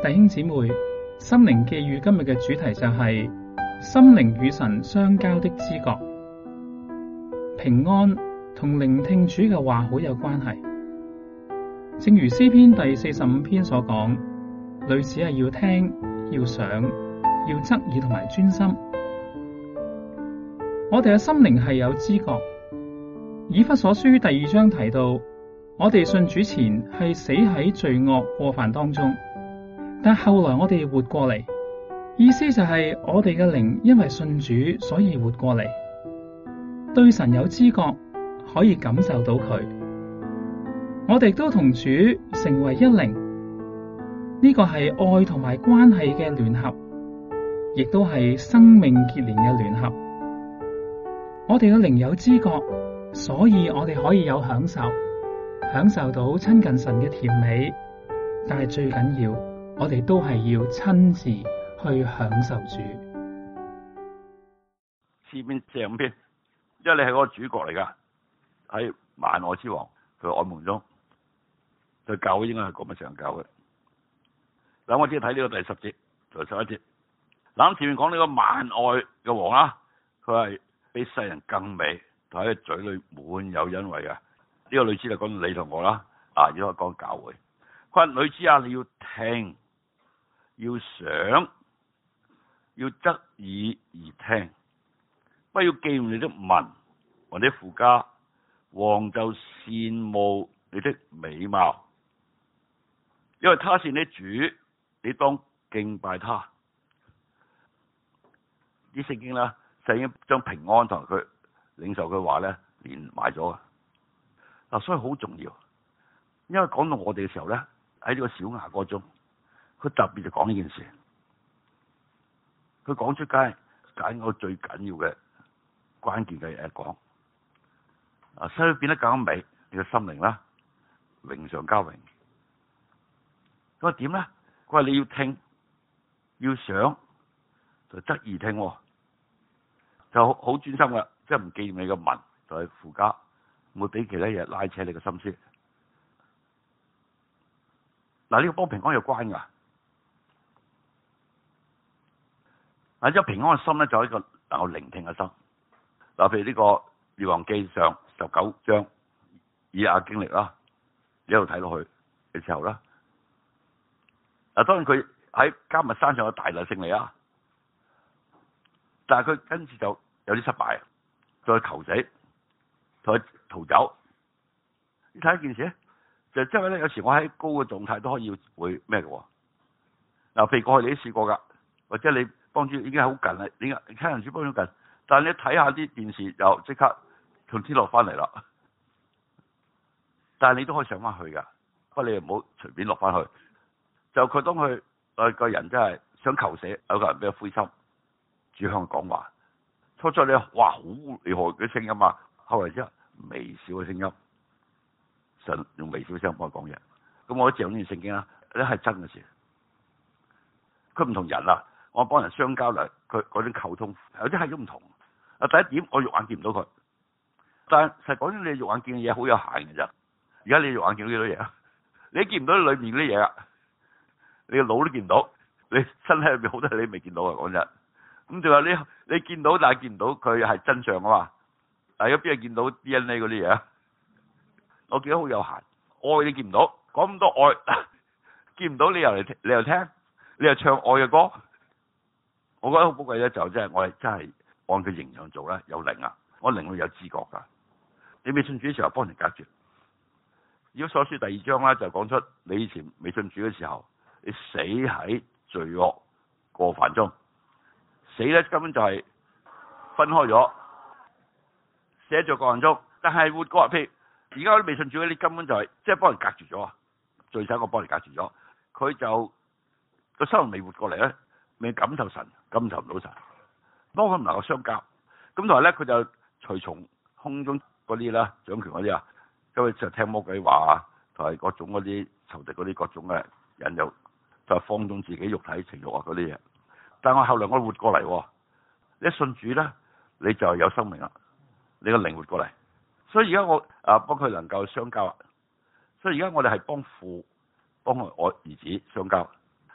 弟兄姊妹，心靈寄語今日嘅主題就係心靈與神相交的知覺。平安同聆聽主嘅話好有關係，正如詩篇第45篇所講，類似係要聽、要想、要側耳同埋專心。我哋嘅心靈係有知覺。以弗所書第2章提到，我哋信主前係死喺罪惡過犯當中，但後來我哋活過嚟，意思就係我哋嘅靈因為信主，所以活過嚟，對神有知覺，可以感受到佢。我哋都同主成為一靈，呢個係愛同埋關係嘅聯合，亦都係生命結連嘅聯合。我哋嘅靈有知覺，所以我哋可以有享受到親近神嘅甜美，但係最緊要，我哋都係要親自去享受主。 詩篇45篇，因為你係嗰個主角嚟噶，喺萬愛之王佢愛夢中，對教會應該係咁嘅上教嘅。嗱，我只係睇呢個第10節同11節。嗱，前面講呢個萬愛嘅王啦，佢係比世人更美，同喺佢嘴裏滿有恩惠嘅。呢個女子就講到你同我啦，如果講教會，佢話女子啊，你要聽，要想，要側耳而聽，不要記念你的民或者父家，王就羨慕你的美貌，因為他是你主，你當敬拜他。啲聖經啦，就已經將平安同佢領受嘅話咧連埋咗啊！所以好重要，因為講到我哋嘅時候咧，喺呢個小雅歌中，佢特別就講呢件事，佢講出街揀我最緊要嘅關鍵嘅嘢講所以變得更美，你嘅心靈啦，榮上加榮。佢話點咧？佢話你要聽，要想，就側耳聽，就好專心噶，即係唔記念你嘅民，就係父家，唔會俾其他嘢拉扯你嘅心思。嗱，呢個幫平安有關噶。嗱，即平安嘅心咧，就係一個能夠聆聽嘅心。嗱，譬如呢個列王記上19章以亞經歷啦，一路睇落去嘅時候啦。嗱，當然佢喺迦密山上有大大勝利啊，但係佢跟住就有啲失敗，再求死，再逃走。你睇一件事，就即係咧，有時我喺高嘅狀態都可以會咩嘅。嗱，譬如過去你都試過噶，或者你幫主已經係好近啦，你聽人主幫咗近，但係你睇下啲電視又即刻從天落翻嚟啦。但係你都可以上翻去噶，不過你唔好隨便落翻去。就佢當佢個人真係想求死，有個人比較灰心，主向佢講話。初初你哇好厲害嘅聲音啊，後嚟之後微小嘅聲音，神用微小嘅聲音幫佢講嘢。咁我借呢段聖經啦，呢係真嘅事。佢唔同人啊，我幫人相交嚟，佢嗰種溝通有啲係都唔同。第一點，我肉眼見唔到佢，但係實講你肉眼見嘅嘢好有限嘅啫。而家你肉眼見到幾多嘢啊？你見唔到裏面嗰啲嘢啊？你個腦都見唔到，你身體入邊好多嘢你未見到啊！講真，咁仲有你見到，但係見唔到佢係真相啊嘛。但係有邊係見到 DNA 嗰啲嘢啊？我見到好有限，愛你見唔到，講咁多愛，見唔到你又聽，你又唱愛嘅歌。我覺得好寶貴咧，就真係我係真係按佢形象做咧，有靈啊，我靈會有知覺噶。你未信主嘅時候幫人隔絕。以弗所書第2章咧就講出你以前未信主嘅時候。你死喺罪惡過犯中，死咧根本就係分開咗，死喺罪惡過犯中。但係活過，譬如而家啲未信主嗰啲根本就係即係幫人隔絕咗啊！罪使我幫人隔絕咗，佢就個生命未活過嚟咧，未感受神，感受唔到神，幫佢唔能夠相交。咁同埋咧，佢就隨從空中嗰啲啦，掌權嗰啲啊，因為就聽魔鬼話啊，同埋各種嗰啲仇敵嗰啲各種嘅引誘。就放縱自己肉體情慾啊嗰啲嘢，但係我後來我活過嚟，你一信主咧，你就有生命啦，你個靈活過嚟，所以而家我幫佢能夠相交，所以而家我哋係幫父幫我兒子相交，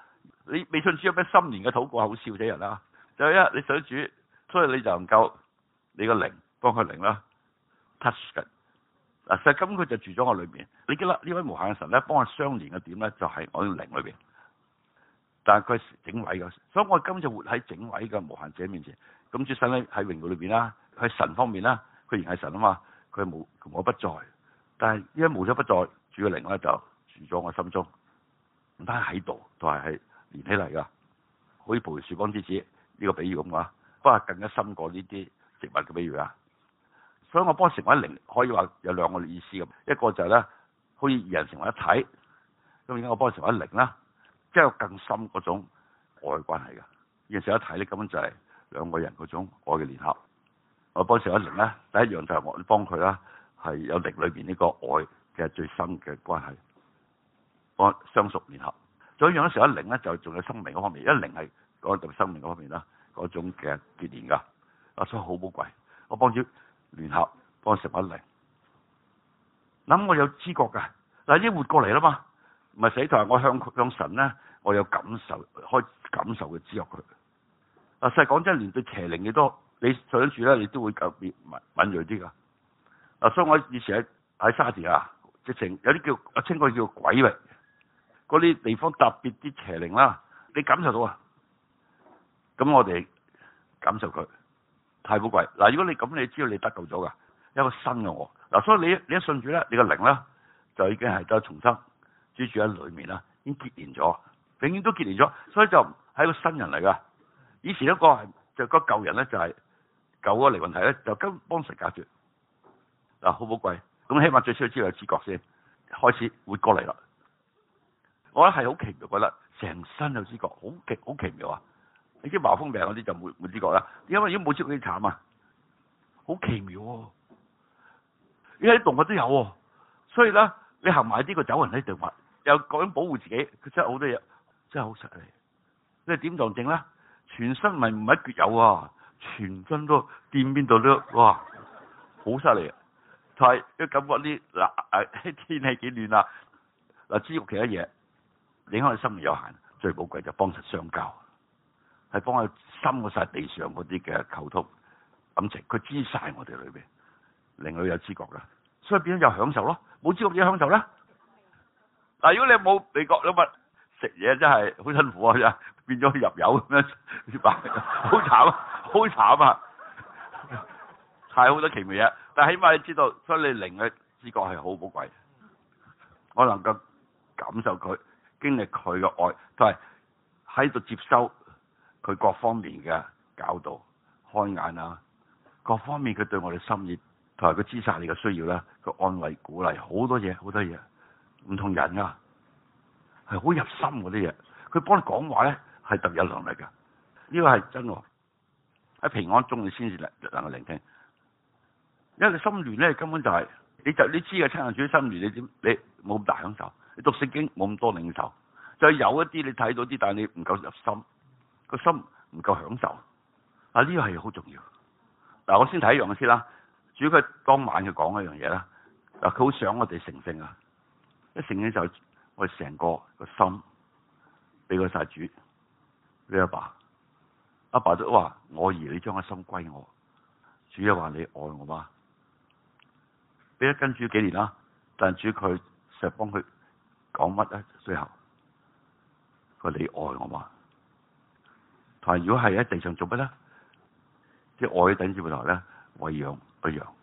你未信主有咩新年嘅禱告係好笑死人啦？就係因為你想主，所以你就能夠你個靈幫佢靈啦 touch 嘅。嗱，實咁佢就住咗我裏邊。你記得呢位無限嘅神咧，幫我相連嘅點咧，就係我嘅靈裏邊。但係佢係整位嘅，所以我今次活喺整位嘅無限者面前。咁主神咧喺榮耀裏邊啦，喺神方面啦，佢仍係神啊嘛，佢係無我不在。但係因為無所不在，主嘅靈咧就住咗我心中，唔單係喺度，都係連起嚟噶，好似葡萄樹幫枝子呢個比喻咁話，不過更加深過呢啲植物嘅比喻啊。所以我幫成為靈，可以話有兩個意思咁，一個就係咧，好似二人成為一體，咁而家我幫成為靈啦，即係有更深嗰種愛嘅關係嘅。二人成為一體咧，根本就係兩個人嗰種愛嘅聯合。我幫成為靈咧，第一樣就係我幫佢啦，係有靈裏邊呢個愛嘅最深嘅關係，我相屬聯合。仲有一樣成為靈咧，就仲有生命嗰方面，因為靈係講到生命嗰方面啦，嗰種嘅結連噶，所以好寶貴。我幫住聯合，幫成為靈。諗我有知覺噶，嗱已經活過嚟啦嘛，唔係死台。我向神咧，我有感受，開感受嘅知覺佢。實際講真，連對邪靈嘅都，你想住咧，你都會特別敏銳啲噶。所以我以前喺沙田啊，直情有啲叫我稱佢叫鬼域，嗰啲地方特別啲邪靈啦，你感受到啊。咁我哋感受佢。太寶貴嗱！如果你咁，你知道你得救咗噶，一個新嘅我嗱，所以你一信主咧，你個靈咧就已經係得重生，住喺裏面啦，已經結連咗，永遠都結連咗，所以就係一個新人嚟噶。以前一個係就個舊人咧，就係舊個靈魂體咧，就跟幫神隔絕嗱，好寶貴。咁起碼最少要知道有知覺先，開始活過嚟啦。我覺得係好奇妙，覺得成身有知覺，好奇妙啊！你知麻風病嗰啲就冇知覺啦，因為已經冇知覺幾慘啊，好奇妙喎！而家啲動物都有喎，所以咧你行埋啲個走人喺度，又講保護自己，佢真係好多嘢，真係好實利。你係點撞正咧？全身唔係一橛有啊，全身都掂邊度都哇，好犀利啊！係都感覺啲嗱天氣幾暖啊！嗱，知覺其他嘢影響你生命有限，最寶貴就幫實相交。係幫佢深過晒地上嗰啲嘅溝通感情，佢知晒我哋裏邊，令佢有知覺噶，所以變咗有享受咯。冇知覺點享受咧？嗱，如果你冇味覺，咁啊食嘢真係好辛苦啊，真變咗入油咁樣，好慘啊，好慘啊，太好多奇妙嘢。但係起碼你知道，所以你靈嘅知覺係好寶貴。我能夠感受佢，經歷佢嘅愛，都係喺度接收。佢各方面嘅教導、開眼啊，各方面佢對我哋心意，同埋佢知晒你嘅需要啦，佢安慰、鼓勵好多嘢，好多嘢，唔同人啊，係好入心嗰啲嘢。佢幫你講話咧，係特別有能力㗎。呢個係真喎。喺平安中你先至能夠聆聽，因為你心亂咧，根本就係、你知嘅親近主心亂，你冇咁大享受，你讀聖經冇咁多領受，就有一啲你睇到啲，但係你唔夠入心。個心唔夠享受，呢個係好重要。嗱，我先睇一樣嘅先啦。主佢當晚佢講一樣嘢啦。嗱，佢好想我哋成聖啊！一成聖就我哋成個心俾佢晒主。你阿爸都話：我兒，你將個心歸我。主又話：你愛我嗎？俾咗跟主幾年啦，但主佢成日幫佢講乜咧？最後佢話：你愛我嗎？但如果係喺地上做乜咧？即係愛頂住台咧，餵養一樣，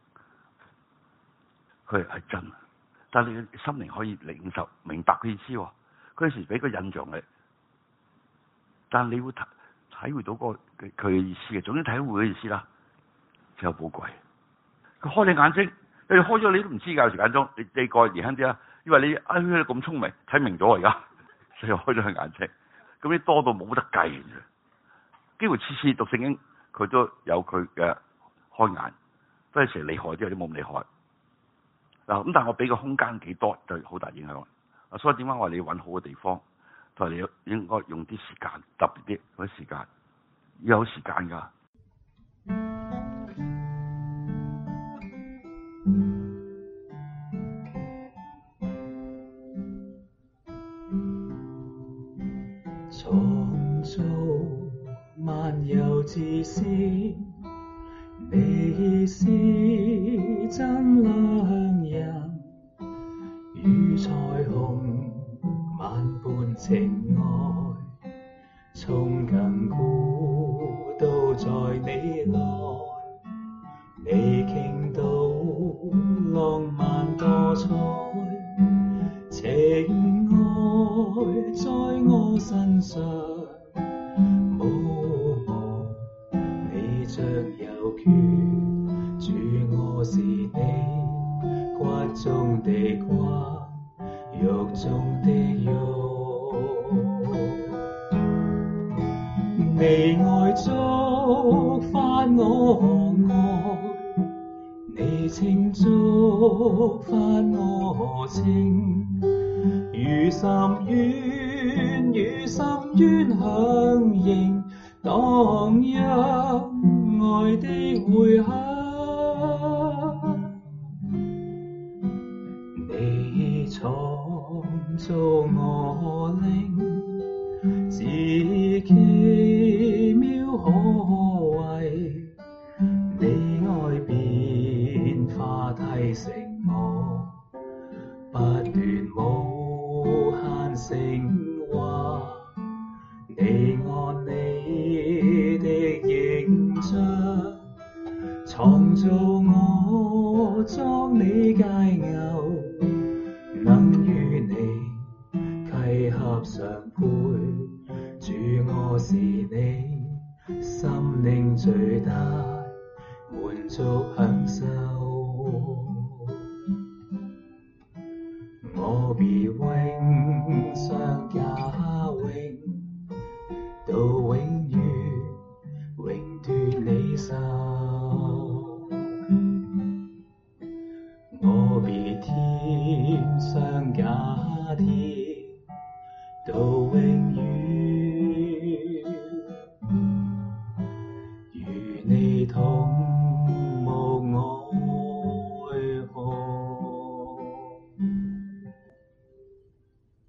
佢係真。但係你嘅心靈可以領受明白佢意思。佢有時俾個印象你，但係你會體會到佢嘅意思嘅。總之體會嘅意思啦，就寶貴。佢開你眼睛，你開咗你都唔知㗎。有時間中你過年輕啲啦，因為你咁聰明睇明咗而家，所以開咗佢眼睛。咁你多到冇得計嘅，幾乎次次讀聖經佢都有佢嘅開眼，都係成厲害啲，有啲冇咁厲害。嗱，咁但係我俾個空間幾多就好大影響。所以點解我話你要揾好嘅地方，同埋你應該用啲時間，特別啲嗰啲時間，要有時間㗎。 創造萬有之先，你是真良人，如彩虹萬般情愛，從亙古都在你內，你傾倒浪漫多彩，情愛在我身上，你像有權，主我是你骨中的骨，肉中的肉，你愛觸發我愛，你情觸發我情，如深淵與深淵響應，蕩漾愛的回響。你創造我靈，至奇妙可畏，你愛變化提醒我，不斷無限升華。你按你的形象創造我作你佳偶，能與你契合相配，主我是你心靈最大滿足享受，我必永相加永，到永遠永奪你手，我必添上加添，到永